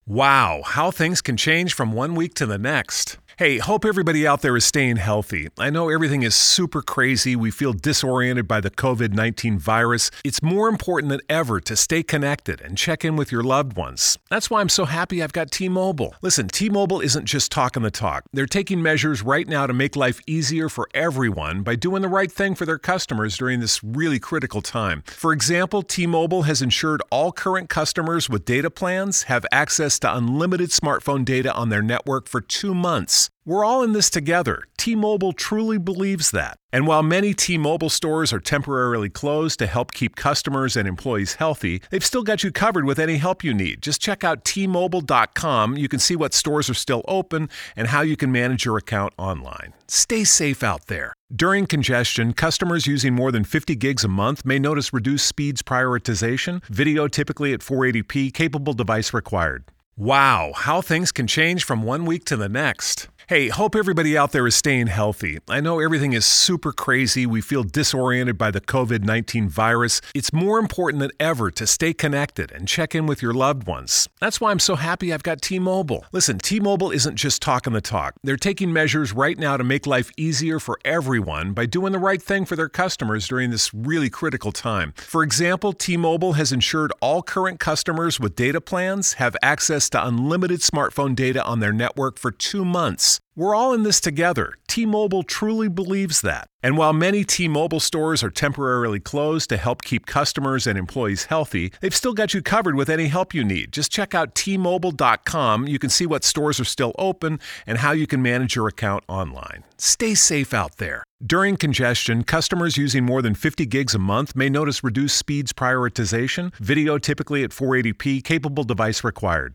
Wow, how things can change from one week to the next. Hey, hope everybody out there is staying healthy. I know everything is super crazy. We feel disoriented by the COVID-19 virus. It's more important than ever to stay connected and check in with your loved ones. That's why I'm so happy I've got T-Mobile. Listen, T-Mobile isn't just talking the talk. They're taking measures right now to make life easier for everyone by doing the right thing for their customers during this really critical time. For example, T-Mobile has ensured all current customers with data plans have access to unlimited smartphone data on their network for 2 months. We're all in this together. T-Mobile truly believes that. And while many T-Mobile stores are temporarily closed to help keep customers and employees healthy, they've still got you covered with any help you need. Just check out T-Mobile.com. You can see what stores are still open and how you can manage your account online. Stay safe out there. During congestion, customers using more than 50 gigs a month may notice reduced speeds prioritization, video typically at 480p, capable device required. Wow, how things can change from one week to the next. Hey, hope everybody out there is staying healthy. I know everything is super crazy. We feel disoriented by the COVID-19 virus. It's more important than ever to stay connected and check in with your loved ones. That's why I'm so happy I've got T-Mobile. Listen, T-Mobile isn't just talking the talk. They're taking measures right now to make life easier for everyone by doing the right thing for their customers during this really critical time. For example, T-Mobile has ensured all current customers with data plans have access to unlimited smartphone data on their network for 2 months. We're all in this together. T-Mobile truly believes that. And while many T-Mobile stores are temporarily closed to help keep customers and employees healthy, they've still got you covered with any help you need. Just check out T-Mobile.com. You can see what stores are still open and how you can manage your account online. Stay safe out there. During congestion, customers using more than 50 gigs a month may notice reduced speeds prioritization, video typically at 480p, capable device required.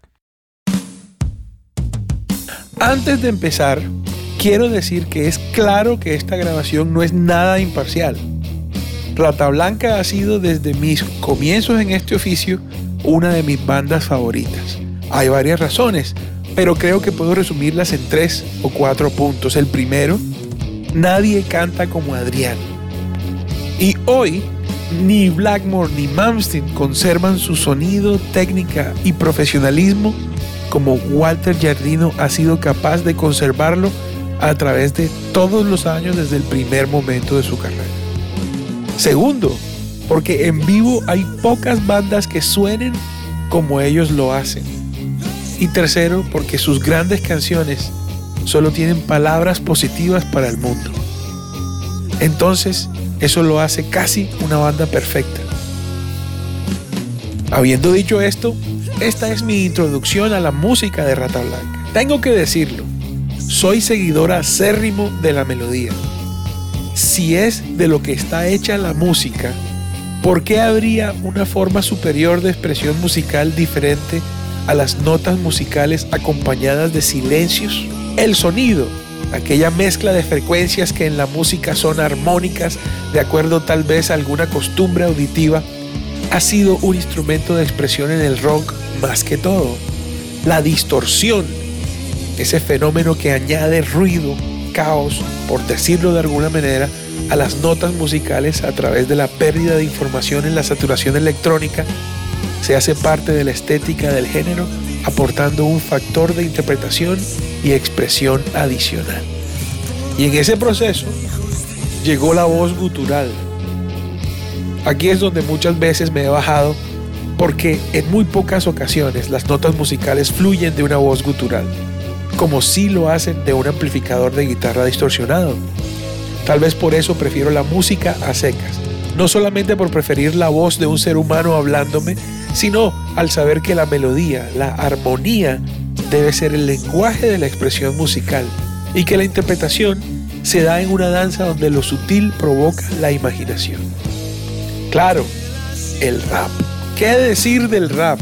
Antes de empezar, quiero decir que es claro que esta grabación no es nada imparcial. Rata Blanca ha sido desde mis comienzos en este oficio una de mis bandas favoritas. Hay varias razones, pero creo que puedo resumirlas en 3 o 4 puntos. El primero, nadie canta como Adrián. Y hoy, ni Blackmore ni Malmsteen conservan su sonido, técnica y profesionalismo como Walter Giardino ha sido capaz de conservarlo a través de todos los años desde el primer momento de su carrera. Segundo, porque en vivo hay pocas bandas que suenen como ellos lo hacen. Y tercero, porque sus grandes canciones solo tienen palabras positivas para el mundo. Entonces, eso lo hace casi una banda perfecta. Habiendo dicho esto, esta es mi introducción a la música de Rata Blanca. Tengo que decirlo, soy seguidor acérrimo de la melodía. Si es de lo que está hecha la música, ¿por qué habría una forma superior de expresión musical diferente a las notas musicales acompañadas de silencios? El sonido, aquella mezcla de frecuencias que en la música son armónicas, de acuerdo tal vez a alguna costumbre auditiva, ha sido un instrumento de expresión en el rock más que todo. La distorsión, ese fenómeno que añade ruido, caos, por decirlo de alguna manera, a las notas musicales a través de la pérdida de información en la saturación electrónica, se hace parte de la estética del género, aportando un factor de interpretación y expresión adicional. Y en ese proceso llegó la voz gutural. Aquí es donde muchas veces me he bajado, porque en muy pocas ocasiones las notas musicales fluyen de una voz gutural, como sí lo hacen de un amplificador de guitarra distorsionado. Tal vez por eso prefiero la música a secas, no solamente por preferir la voz de un ser humano hablándome, sino al saber que la melodía, la armonía, debe ser el lenguaje de la expresión musical y que la interpretación se da en una danza donde lo sutil provoca la imaginación. Claro, el rap. ¿Qué decir del rap?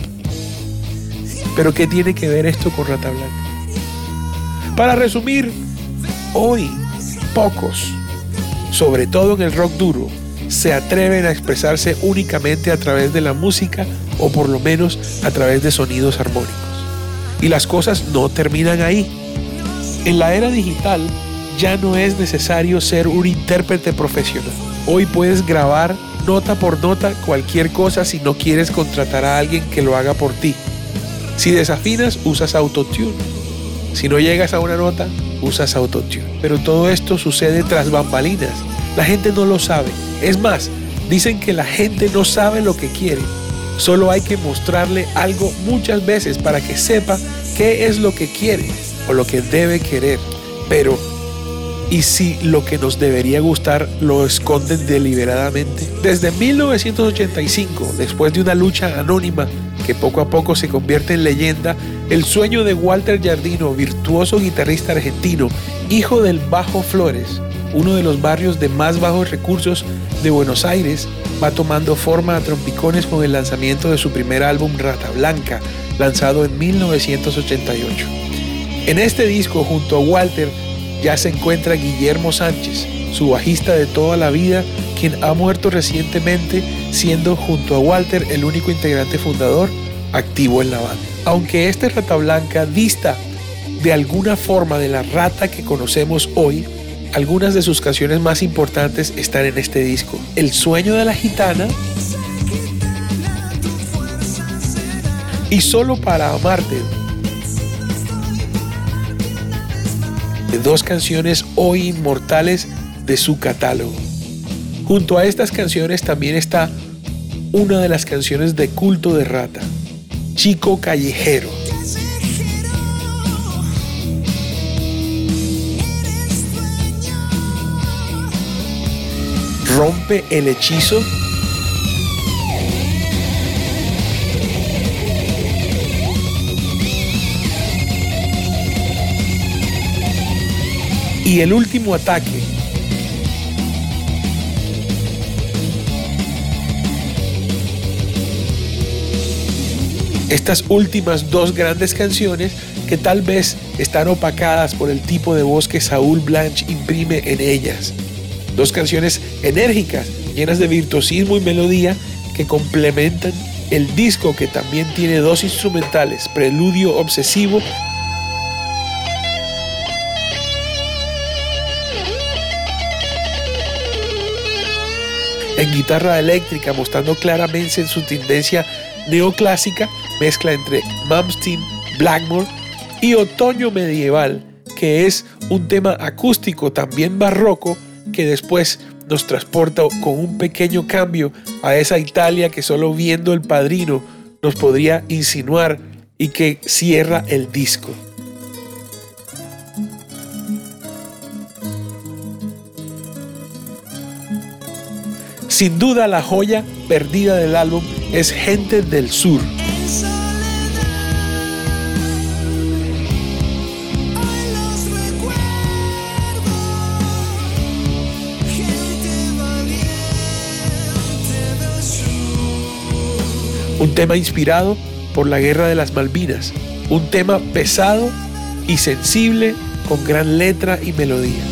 Pero ¿qué tiene que ver esto con Rata Blanca? Para resumir, hoy pocos, sobre todo en el rock duro, se atreven a expresarse únicamente a través de la música o por lo menos a través de sonidos armónicos. Y las cosas no terminan ahí. En la era digital ya no es necesario ser un intérprete profesional. Hoy puedes grabar nota por nota cualquier cosa si no quieres contratar a alguien que lo haga por ti. Si desafinas, usas autotune. Si no llegas a una nota, usas autotune. Pero todo esto sucede tras bambalinas. La gente no lo sabe. Es más, dicen que la gente no sabe lo que quiere. Solo hay que mostrarle algo muchas veces para que sepa qué es lo que quiere o lo que debe querer. Pero, ¿y si lo que nos debería gustar lo esconden deliberadamente? Desde 1985, después de una lucha anónima que poco a poco se convierte en leyenda, el sueño de Walter Giardino, virtuoso guitarrista argentino, hijo del Bajo Flores, uno de los barrios de más bajos recursos de Buenos Aires, va tomando forma a trompicones con el lanzamiento de su primer álbum Rata Blanca, lanzado en 1988. En este disco, junto a Walter, ya se encuentra Guillermo Sánchez, su bajista de toda la vida, quien ha muerto recientemente, siendo junto a Walter el único integrante fundador activo en la banda. Aunque este Rata Blanca dista de alguna forma de la Rata que conocemos hoy, algunas de sus canciones más importantes están en este disco. El sueño de la gitana y Solo para amarte, de dos canciones hoy inmortales de su catálogo. Junto a estas canciones también está una de las canciones de culto de Rata, Chico Callejero. Rompe el hechizo. Y el último ataque. Estas últimas dos grandes canciones que tal vez están opacadas por el tipo de voz que Saúl Blanch imprime en ellas. Dos canciones enérgicas, llenas de virtuosismo y melodía que complementan el disco, que también tiene dos instrumentales, Preludio Obsesivo en guitarra eléctrica, mostrando claramente su tendencia neoclásica, mezcla entre Malmsteen, Blackmore y Otoño Medieval, que es un tema acústico también barroco que después nos transporta con un pequeño cambio a esa Italia que solo viendo El Padrino nos podría insinuar y que cierra el disco. Sin duda la joya perdida del álbum es Gente del Sur. Un tema inspirado por la Guerra de las Malvinas, un tema pesado y sensible con gran letra y melodía.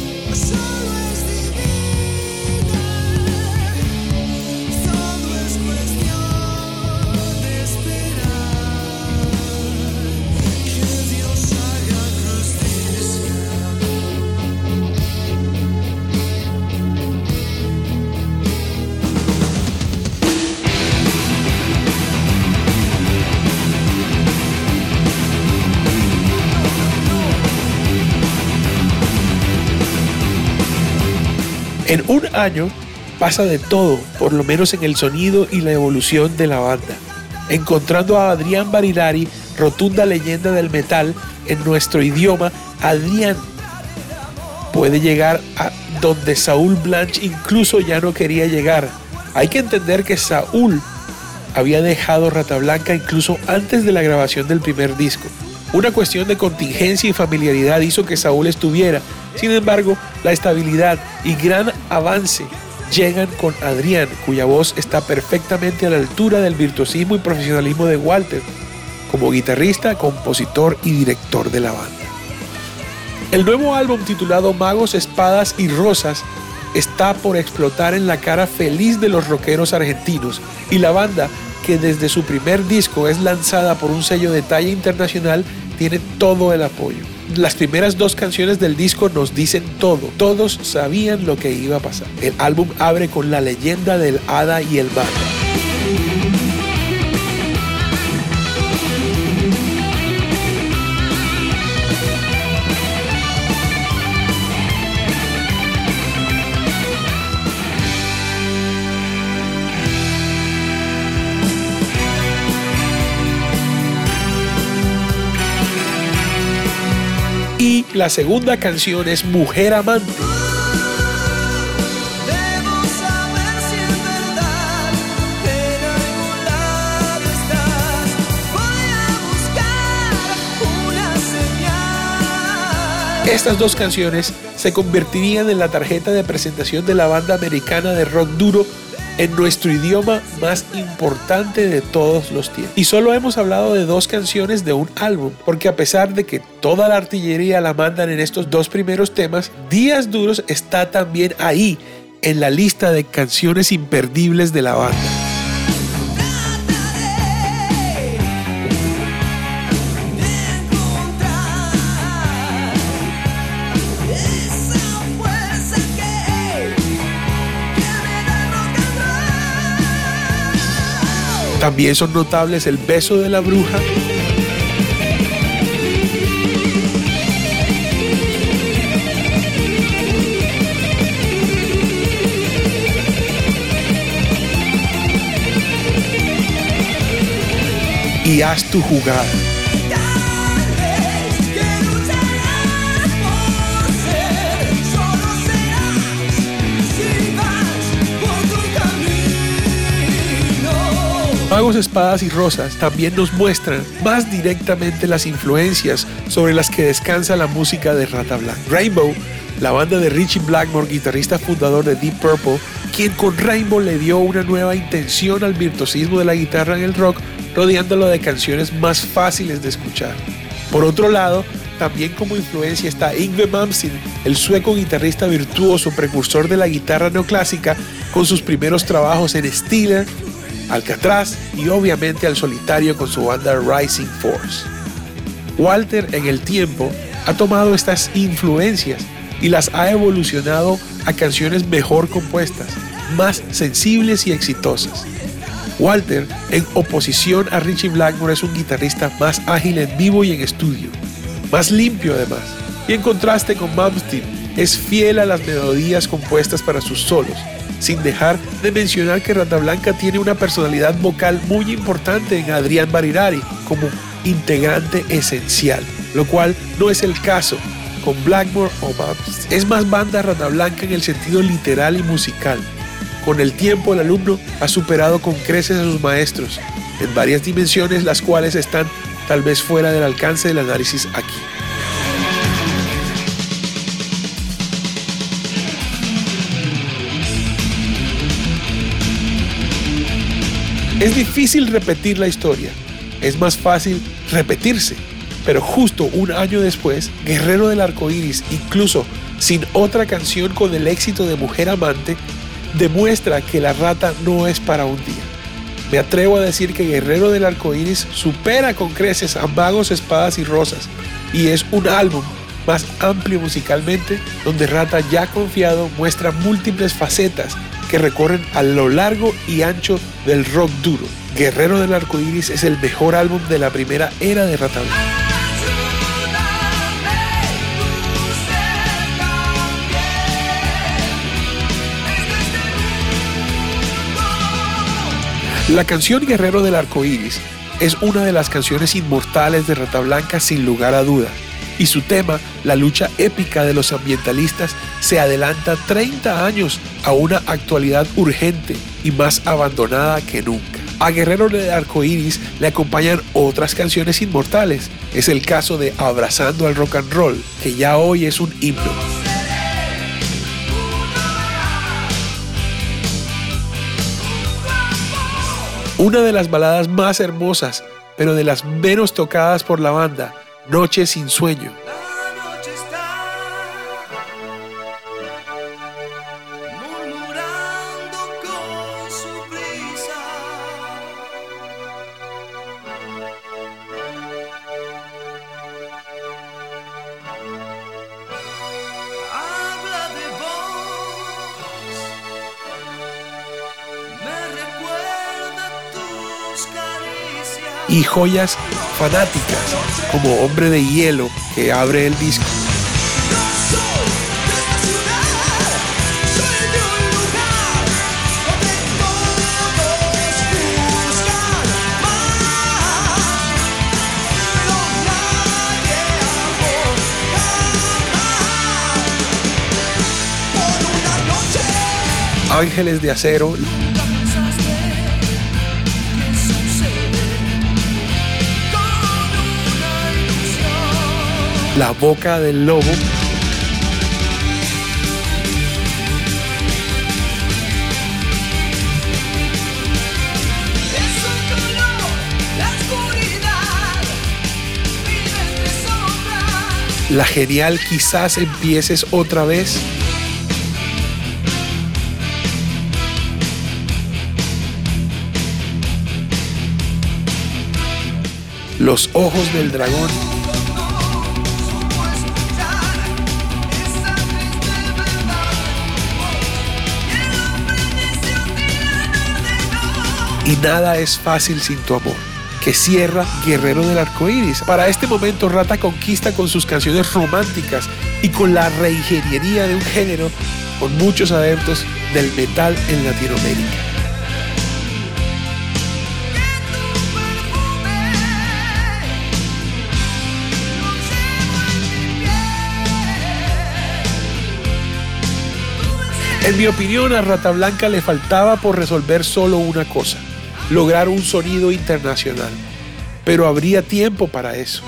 En un año pasa de todo, por lo menos en el sonido y la evolución de la banda, encontrando a Adrián Barilari, rotunda leyenda del metal en nuestro idioma. Adrián puede llegar a donde Saúl Blanch incluso ya no quería llegar. Hay que entender que Saúl había dejado Rata Blanca incluso antes de la grabación del primer disco. Una cuestión de contingencia y familiaridad hizo que Saúl estuviera. Sin embargo, la estabilidad y gran avance llegan con Adrián, cuya voz está perfectamente a la altura del virtuosismo y profesionalismo de Walter, como guitarrista, compositor y director de la banda. El nuevo álbum, titulado Magos, Espadas y Rosas, está por explotar en la cara feliz de los rockeros argentinos, y la banda, que desde su primer disco es lanzada por un sello de talla internacional, tiene todo el apoyo. Las primeras dos canciones del disco nos dicen todo. Todos sabían lo que iba a pasar. El álbum abre con la leyenda del hada y el mago. la segunda canción es Mujer Amante. Estas dos canciones se convertirían en la tarjeta de presentación de la banda americana de rock duro en nuestro idioma más importante de todos los tiempos. Y solo hemos hablado de dos canciones de un álbum, porque a pesar de que toda la artillería la mandan en estos dos primeros temas, Días Duros está también ahí en la lista de canciones imperdibles de la banda. También son notables El beso de la bruja, y Haz tu jugada. Magos, Espadas y Rosas también nos muestran más directamente las influencias sobre las que descansa la música de Rata Blanca. Rainbow, la banda de Ritchie Blackmore, guitarrista fundador de Deep Purple, quien con Rainbow le dio una nueva intención al virtuosismo de la guitarra en el rock, rodeándolo de canciones más fáciles de escuchar. Por otro lado, también como influencia está Yngwie Malmsteen, el sueco guitarrista virtuoso precursor de la guitarra neoclásica, con sus primeros trabajos en Steeler, Alcatraz y obviamente al solitario con su banda Rising Force. Walter en el tiempo ha tomado estas influencias y las ha evolucionado a canciones mejor compuestas, más sensibles y exitosas. Walter, en oposición a Ritchie Blackmore, es un guitarrista más ágil en vivo y en estudio, más limpio además, y en contraste con Malmsteen, es fiel a las melodías compuestas para sus solos, sin dejar de mencionar que Rata Blanca tiene una personalidad vocal muy importante en Adrián Barilari como integrante esencial, lo cual no es el caso con Blackmore o Malmsteen. Es más banda Rata Blanca en el sentido literal y musical. Con el tiempo el alumno ha superado con creces a sus maestros en varias dimensiones, las cuales están tal vez fuera del alcance del análisis aquí. Es difícil repetir la historia, es más fácil repetirse, pero justo un año después, Guerrero del Arcoíris, incluso sin otra canción con el éxito de Mujer Amante, demuestra que la Rata no es para un día. Me atrevo a decir que Guerrero del Arcoíris supera con creces a Magos, Espadas y Rosas, y es un álbum más amplio musicalmente, donde Rata ya confiado muestra múltiples facetas que recorren a lo largo y ancho del rock duro. Guerrero del Arcoíris es el mejor álbum de la primera era de Rata Blanca. La canción Guerrero del Arcoíris es una de las canciones inmortales de Rata Blanca sin lugar a duda, y su tema, la lucha épica de los ambientalistas, se adelanta 30 años a una actualidad urgente y más abandonada que nunca. A Guerrero del Arcoíris le acompañan otras canciones inmortales. Es el caso de Abrazando al Rock and Roll, que ya hoy es un himno. Una de las baladas más hermosas, pero de las menos tocadas por la banda, Noche sin sueño. Y joyas fanáticas como Hombre de Hielo, que abre el disco. Ángeles de Acero, La Boca del Lobo, la genial Quizás empieces otra vez, Los Ojos del Dragón, y Nada es fácil sin tu amor, que cierra Guerrero del Arcoíris. Para este momento, Rata conquista con sus canciones románticas y con la reingeniería de un género con muchos adeptos del metal en Latinoamérica. En mi opinión, a Rata Blanca le faltaba por resolver solo una cosa: lograr un sonido internacional. Pero habría tiempo para eso.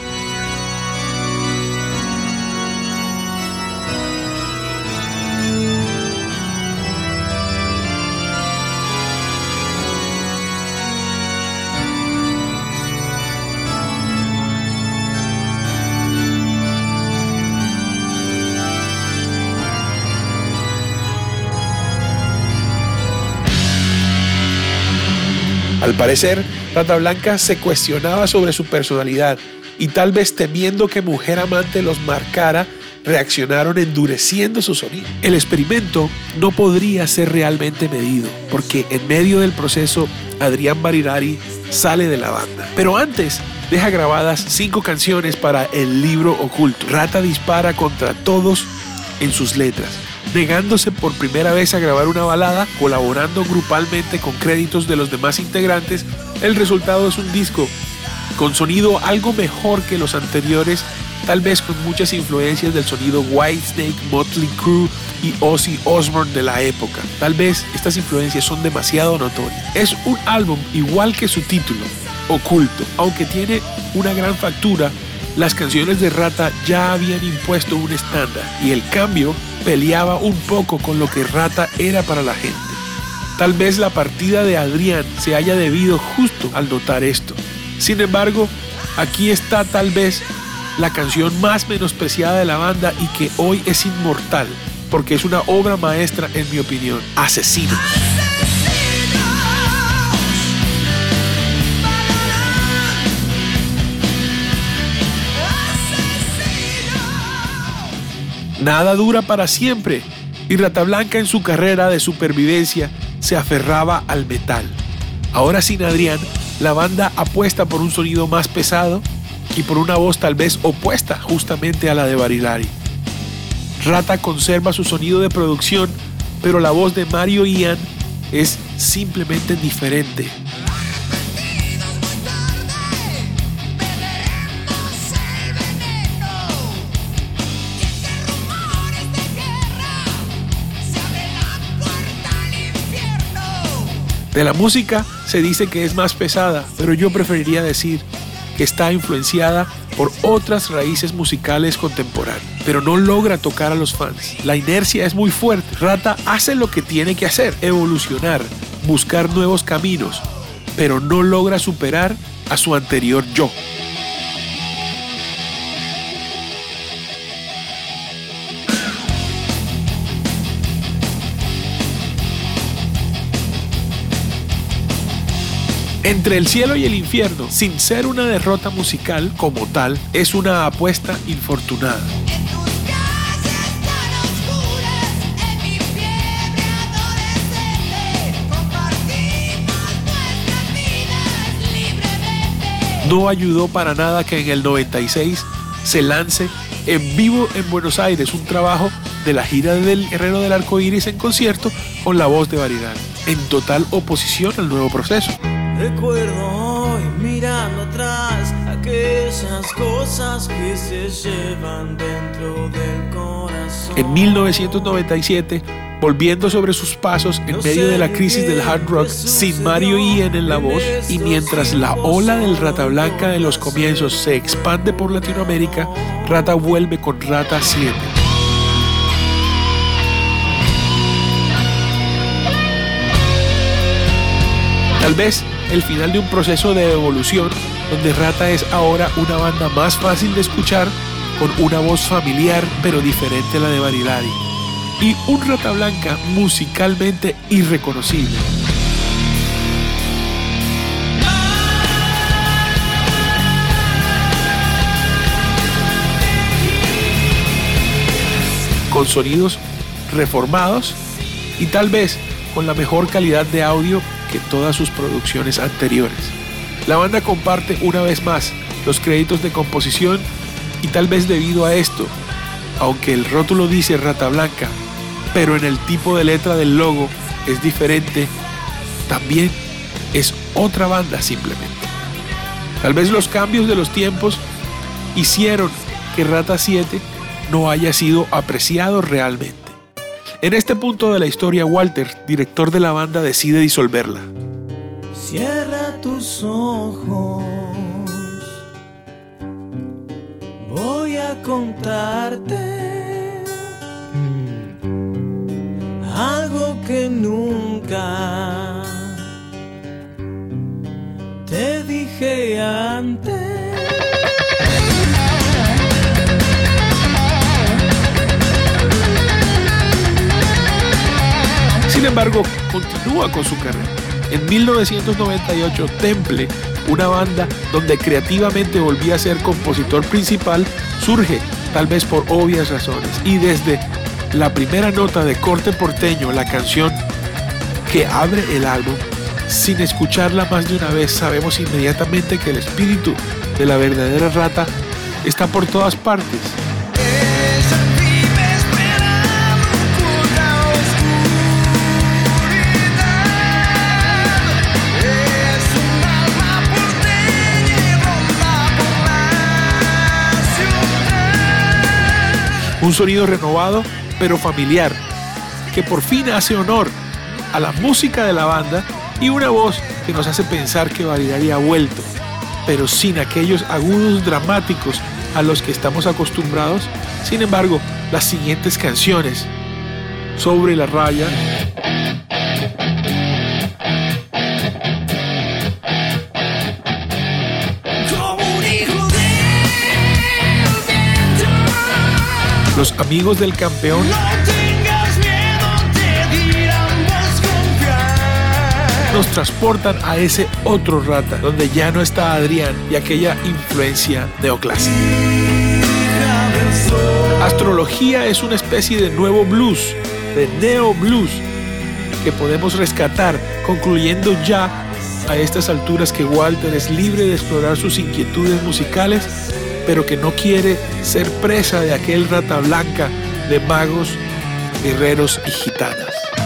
Al parecer, Rata Blanca se cuestionaba sobre su personalidad y tal vez temiendo que Mujer Amante los marcara, reaccionaron endureciendo su sonido. El experimento no podría ser realmente medido porque en medio del proceso Adrián Barilari sale de la banda. Pero antes deja grabadas 5 canciones para El Libro Oculto. Rata dispara contra todos en sus letras, negándose por primera vez a grabar una balada, colaborando grupalmente con créditos de los demás integrantes. El resultado es un disco con sonido algo mejor que los anteriores, tal vez con muchas influencias del sonido Whitesnake, Motley Crue y Ozzy Osbourne de la época. Tal vez estas influencias son demasiado notorias. Es un álbum igual que su título, Oculto. Aunque tiene una gran factura, las canciones de Rata ya habían impuesto un estándar y el cambio peleaba un poco con lo que Rata era para la gente. Tal vez la partida de Adrián se haya debido justo al notar esto. Sin embargo, aquí está tal vez la canción más menospreciada de la banda y que hoy es inmortal, porque es una obra maestra en mi opinión: Asesinos. Nada dura para siempre, y Rata Blanca en su carrera de supervivencia se aferraba al metal. Ahora sin Adrián, la banda apuesta por un sonido más pesado y por una voz tal vez opuesta justamente a la de Barilari. Rata conserva su sonido de producción, pero la voz de Mario Ian es simplemente diferente. De la música se dice que es más pesada, pero yo preferiría decir que está influenciada por otras raíces musicales contemporáneas, pero no logra tocar a los fans. La inercia es muy fuerte. Rata hace lo que tiene que hacer: evolucionar, buscar nuevos caminos, pero no logra superar a su anterior yo. Entre el cielo y el infierno, sin ser una derrota musical como tal, es una apuesta infortunada. No ayudó para nada que en el 96 se lance en vivo en Buenos Aires un trabajo de la gira del Guerrero del Arcoíris en concierto con la voz de Barilari, en total oposición al nuevo proceso. Recuerdo hoy mirando atrás aquellas cosas que se llevan dentro del corazón. En 1997, volviendo sobre sus pasos en medio de la crisis del hard rock, sin Mario Ian en la voz, y mientras la ola del Rata Blanca de los comienzos se expande por Latinoamérica, Rata vuelve con Rata 7. Tal vez el final de un proceso de evolución donde Rata es ahora una banda más fácil de escuchar, con una voz familiar pero diferente a la de Barilari, y un Rata Blanca musicalmente irreconocible. Con sonidos reformados y tal vez con la mejor calidad de audio que todas sus producciones anteriores. La banda comparte una vez más los créditos de composición y tal vez debido a esto, aunque el rótulo dice Rata Blanca, pero en el tipo de letra del logo es diferente, también es otra banda simplemente. Tal vez los cambios de los tiempos hicieron que Rata 7 no haya sido apreciado realmente. En este punto de la historia, Walter, director de la banda, decide disolverla. Cierra tus ojos, voy a contarte algo que nunca te dije antes. Sin embargo, continúa con su carrera. En 1998, Temple, una banda donde creativamente volvía a ser compositor principal, surge, tal vez por obvias razones, y desde la primera nota de corte porteño, la canción que abre el álbum, sin escucharla más de una vez, sabemos inmediatamente que el espíritu de la verdadera Rata está por todas partes. Un sonido renovado, pero familiar, que por fin hace honor a la música de la banda y una voz que nos hace pensar que Barilari ha vuelto, pero sin aquellos agudos dramáticos a los que estamos acostumbrados. Sin embargo, las siguientes canciones, Sobre la raya, Los amigos del campeón, nos transportan a ese otro Rata, donde ya no está Adrián y aquella influencia neoclásica. Astrología es una especie de nuevo blues, de neo blues, que podemos rescatar, concluyendo ya a estas alturas que Walter es libre de explorar sus inquietudes musicales, pero que no quiere ser presa de aquel Rata Blanca de magos, guerreros y gitanas.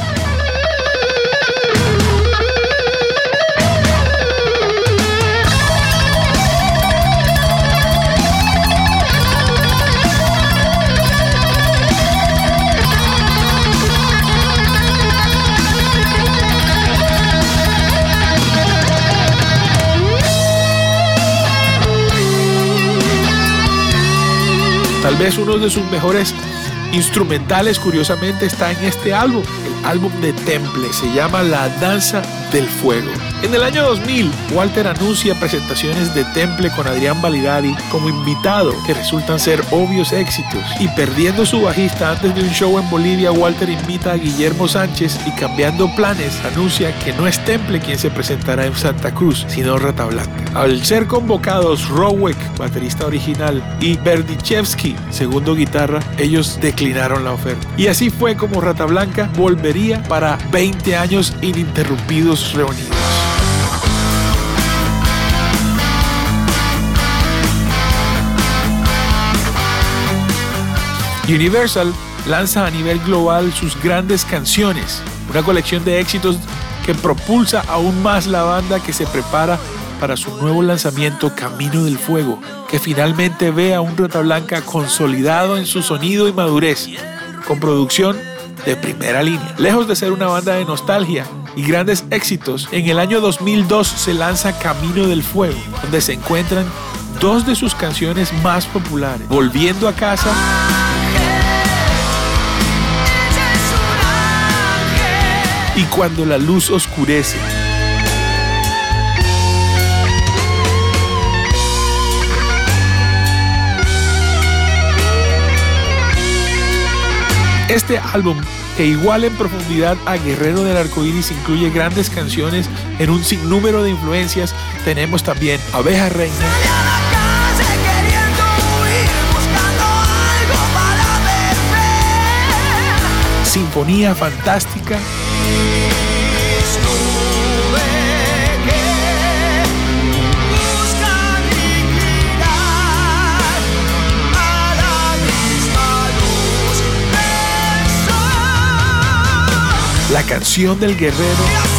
Tal vez uno de sus mejores instrumentales, curiosamente, está en este álbum, el álbum de Temple, se llama La Danza del Fuego. En el año 2000, Walter anuncia presentaciones de Temple con Adrián Barilari como invitado, que resultan ser obvios éxitos. Y perdiendo su bajista antes de un show en Bolivia, Walter invita a Guillermo Sánchez y, cambiando planes, anuncia que no es Temple quien se presentará en Santa Cruz, sino Rata Blanca. Al ser convocados Rowek, baterista original, y Berdichevsky, segundo guitarra, ellos declinaron la oferta. Y así fue como Rata Blanca volvería para 20 años ininterrumpidos reunidos. Universal lanza a nivel global sus grandes canciones, una colección de éxitos que propulsa aún más la banda, que se prepara para su nuevo lanzamiento Camino del Fuego, que finalmente ve a un Rata Blanca consolidado en su sonido y madurez, con producción de primera línea. Lejos de ser una banda de nostalgia y grandes éxitos, en el año 2002 se lanza Camino del Fuego, donde se encuentran dos de sus canciones más populares, Volviendo a Casa y Cuando la luz oscurece. Este álbum, que igual en profundidad a Guerrero del Arcoíris, incluye grandes canciones en un sinnúmero de influencias. Tenemos también Abeja Reina, Sinfonía Fantástica, La Canción del Guerrero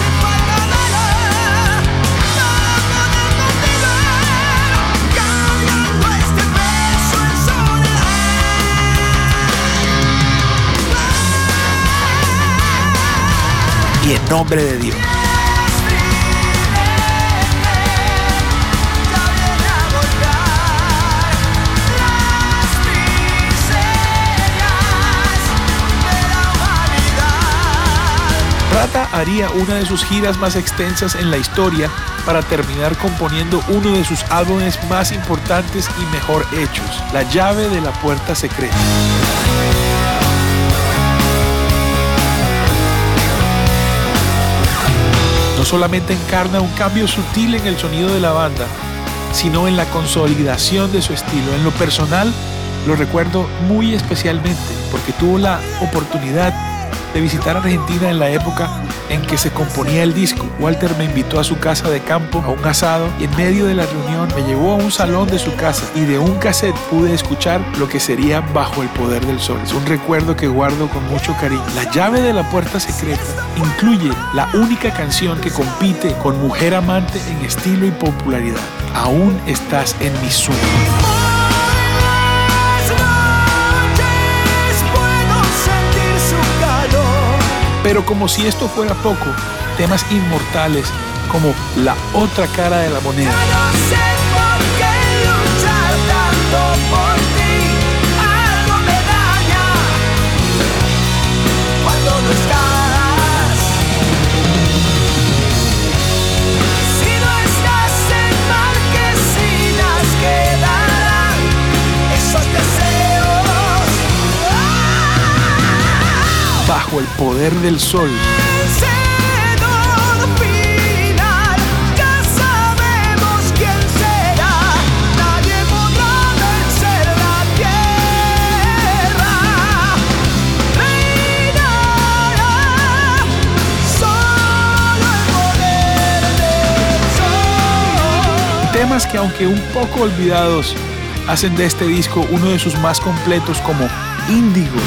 y En Nombre de Dios. Rata haría una de sus giras más extensas en la historia para terminar componiendo uno de sus álbumes más importantes y mejor hechos, La Llave de la Puerta Secreta. No solamente encarna un cambio sutil en el sonido de la banda, sino en la consolidación de su estilo. En lo personal, lo recuerdo muy especialmente porque tuvo la oportunidad de visitar Argentina en la época en que se componía el disco. Walter me invitó a su casa de campo a un asado y en medio de la reunión me llevó a un salón de su casa y de un cassette pude escuchar lo que sería Bajo el Poder del Sol. Es un recuerdo que guardo con mucho cariño. La Llave de la Puerta Secreta incluye la única canción que compite con Mujer Amante en estilo y popularidad. Aún estás en mis sueños. Pero como si esto fuera poco, temas inmortales como La Otra Cara de la Moneda, no sé por qué luchar tanto por ti, algo me daña cuando no estás. Si no estás en Marquesinas quedarán esos deseos. Bajo el Poder del Sol. Vencedor final, ya sabemos quién será. Nadie podrá vencer la tierra. Reinará solo el poder del sol. Temas que, aunque un poco olvidados, hacen de este disco uno de sus más completos, como Índigo,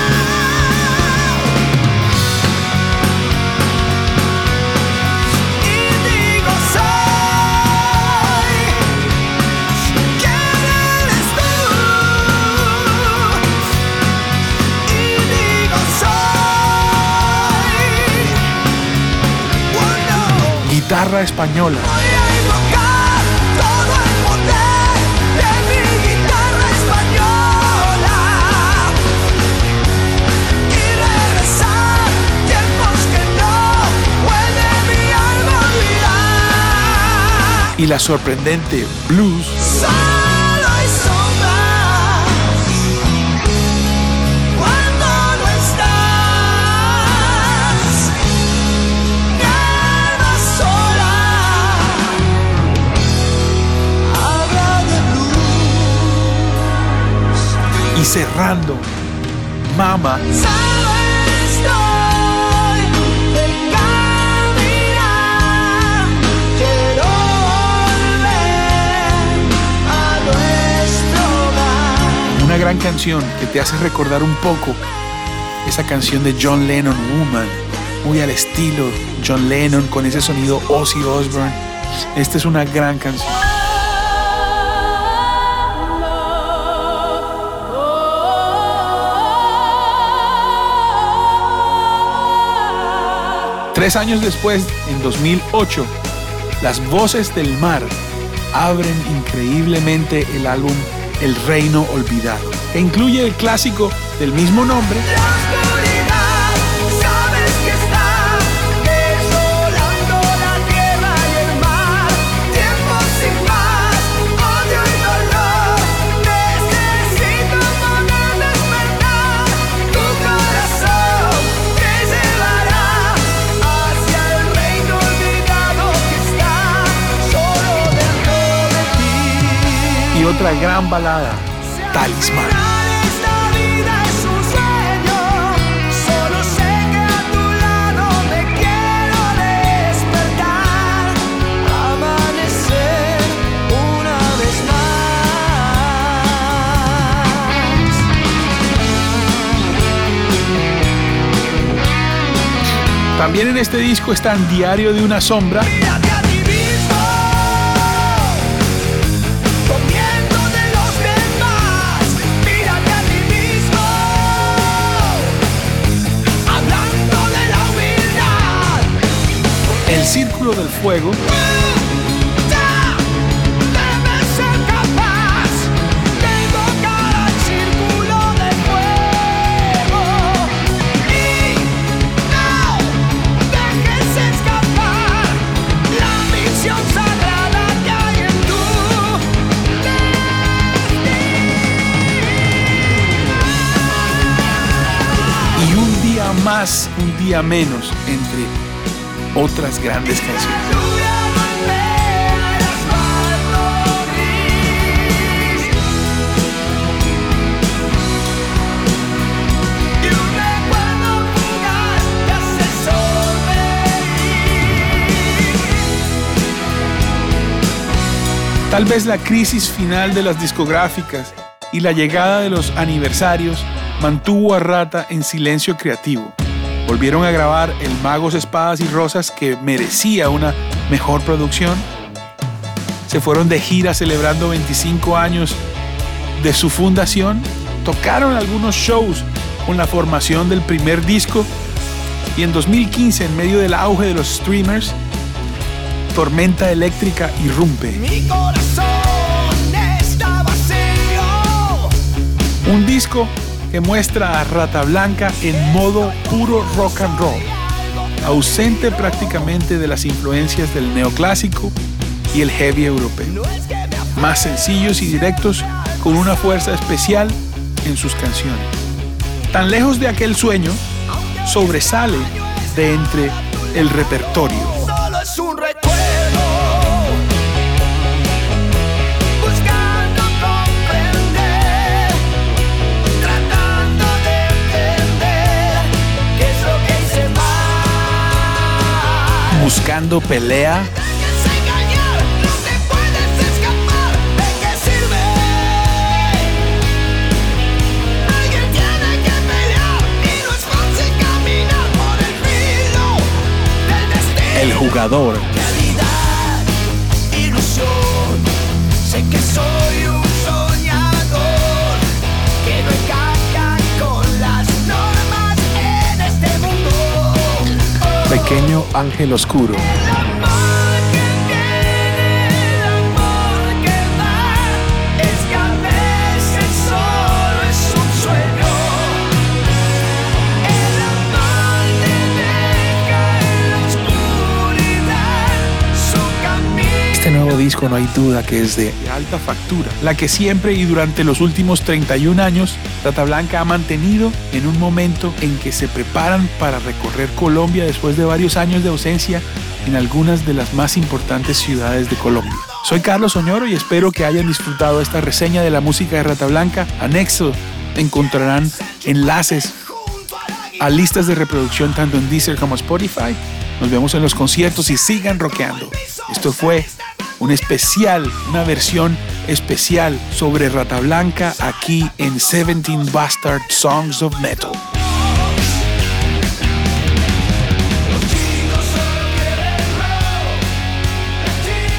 Índigo soy, ¿quién eres tú? Índigo soy, oh no. Guitarra Española, Voy a invocar todo el poder de mi guitarra española y regresar tiempos que no puede mi alma olvidar. y la sorprendente Blues, Solo hay sombras cuando no estás. Mi alma sola habla de blues. y cerrando Mama, Solo estoy de caminar. Quiero volver a nuestro hogar. una gran canción que te hace recordar un poco esa canción de John Lennon, Woman, muy al estilo John Lennon, con ese sonido Ozzy Osbourne, Esta es una gran canción. Tres años después, en 2008, Las Voces del Mar abren increíblemente el álbum El Reino Olvidado, que incluye el clásico del mismo nombre. Y otra gran balada, Talismán. Esta vida es un sueño, solo sé que a tu lado me quiero despertar, amanecer una vez más. También en este disco están Diario de una Sombra, Mírate a ti mismo, comiendo de los demás. Mírate a ti mismo, hablando de la humildad. El Círculo del Fuego, Ya debes ser capaz de invocar al círculo de fuego. Y no dejes escapar la misión sagrada que hay en tu y Un Día Más, Un Día Menos, entre otras grandes canciones. lluvia golpea el asfalto gris y un recuerdo fugaz te hace sonreír. Tal vez la crisis final de las discográficas y la llegada de los aniversarios mantuvo a Rata en silencio creativo. Volvieron a grabar El Magos, Espadas y Rosas, que merecía una mejor producción. Se fueron de gira celebrando 25 años de su fundación. Tocaron algunos shows con la formación del primer disco. Y en 2015, en medio del auge de los streamers, Tormenta Eléctrica irrumpe. Mi corazón está vacío. Un disco que muestra a Rata Blanca en modo puro rock and roll, ausente prácticamente de las influencias del neoclásico y el heavy europeo. Más sencillos y directos, con una fuerza especial en sus canciones. Tan lejos de aquel sueño, sobresale de entre el repertorio. Solo es un recuerdo, buscando comprender, tratando de entender qué es lo que hice mal. Buscando pelea, Dejes engañar, no te puedes escapar. ¿De qué sirve? Alguien tiene que pelear y no es fácil caminar por el filo del destino. El Jugador, Realidad, ilusión, sé que soy un soñador que no encaja con las normas en este mundo. Pequeño Ángel Oscuro, El amor que tiene, el amor que da, es que a veces solo es un sueño. El amor te deja en la oscuridad su camino. este nuevo disco no hay duda que es de alta factura, la que siempre y durante los últimos 31 años Rata Blanca ha mantenido en un momento en que se preparan para recorrer Colombia después de varios años de ausencia en algunas de las más importantes ciudades de Colombia. Soy Carlos Oñoro y espero que hayan disfrutado esta reseña de la música de Rata Blanca. Anexo encontrarán enlaces a listas de reproducción tanto en Deezer como Spotify. Nos vemos en los conciertos y sigan rockeando. Esto fue un especial, una versión especial sobre Rata Blanca aquí en 17 Bastard Songs of Metal. Los chicos solo quieren rock,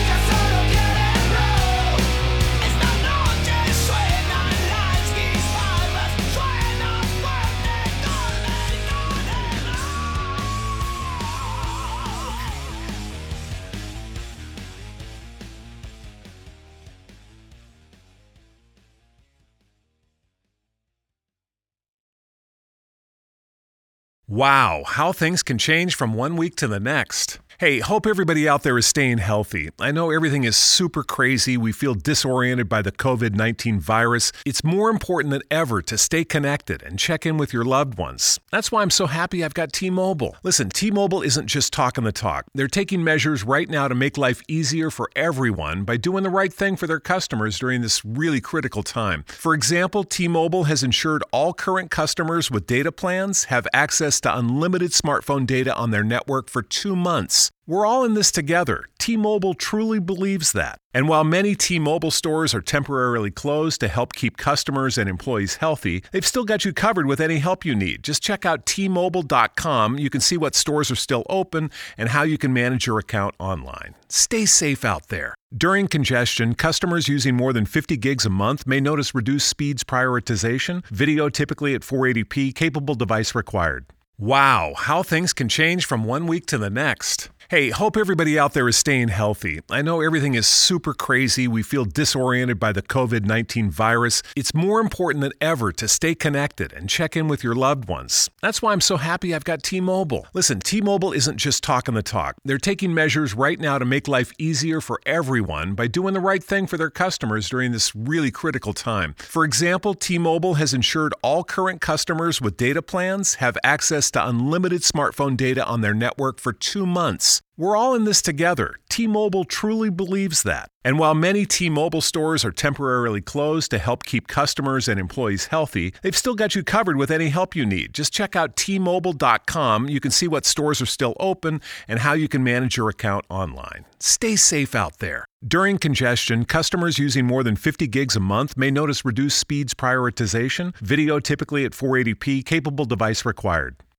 Wow, how things can change from one week to the next. Hey, hope everybody out there is staying healthy. I know everything is super crazy. We feel disoriented by the COVID-19 virus. It's more important than ever to stay connected and check in with your loved ones. That's why I'm so happy I've got T-Mobile. Listen, T-Mobile isn't just talking the talk. They're taking measures right now to make life easier for everyone by doing the right thing for their customers during this really critical time. For example, T-Mobile has ensured all current customers with data plans have access to unlimited smartphone data on their network for 2 months. We're all in this together. T-Mobile truly believes that. And while many T-Mobile stores are temporarily closed to help keep customers and employees healthy, they've still got you covered with any help you need. Just check out T-Mobile.com. You can see what stores are still open and how you can manage your account online. Stay safe out there. During congestion, customers using more than 50 gigs a month may notice reduced speeds prioritization, video typically at 480p, capable device required. Wow, how things can change from one week to the next. Hey, hope everybody out there is staying healthy. I know everything is super crazy. We feel disoriented by the COVID-19 virus. It's more important than ever to stay connected and check in with your loved ones. That's why I'm so happy I've got T-Mobile. Listen, T-Mobile isn't just talking the talk. They're taking measures right now to make life easier for everyone by doing the right thing for their customers during this really critical time. For example, T-Mobile has ensured all current customers with data plans have access to unlimited smartphone data on their network for 2 months. We're all in this together. T-Mobile truly believes that. And while many T-Mobile stores are temporarily closed to help keep customers and employees healthy, they've still got you covered with any help you need. Just check out T-Mobile.com. You can see what stores are still open and how you can manage your account online. Stay safe out there. During congestion, customers using more than 50 gigs a month may notice reduced speeds prioritization, video typically at 480p, capable device required.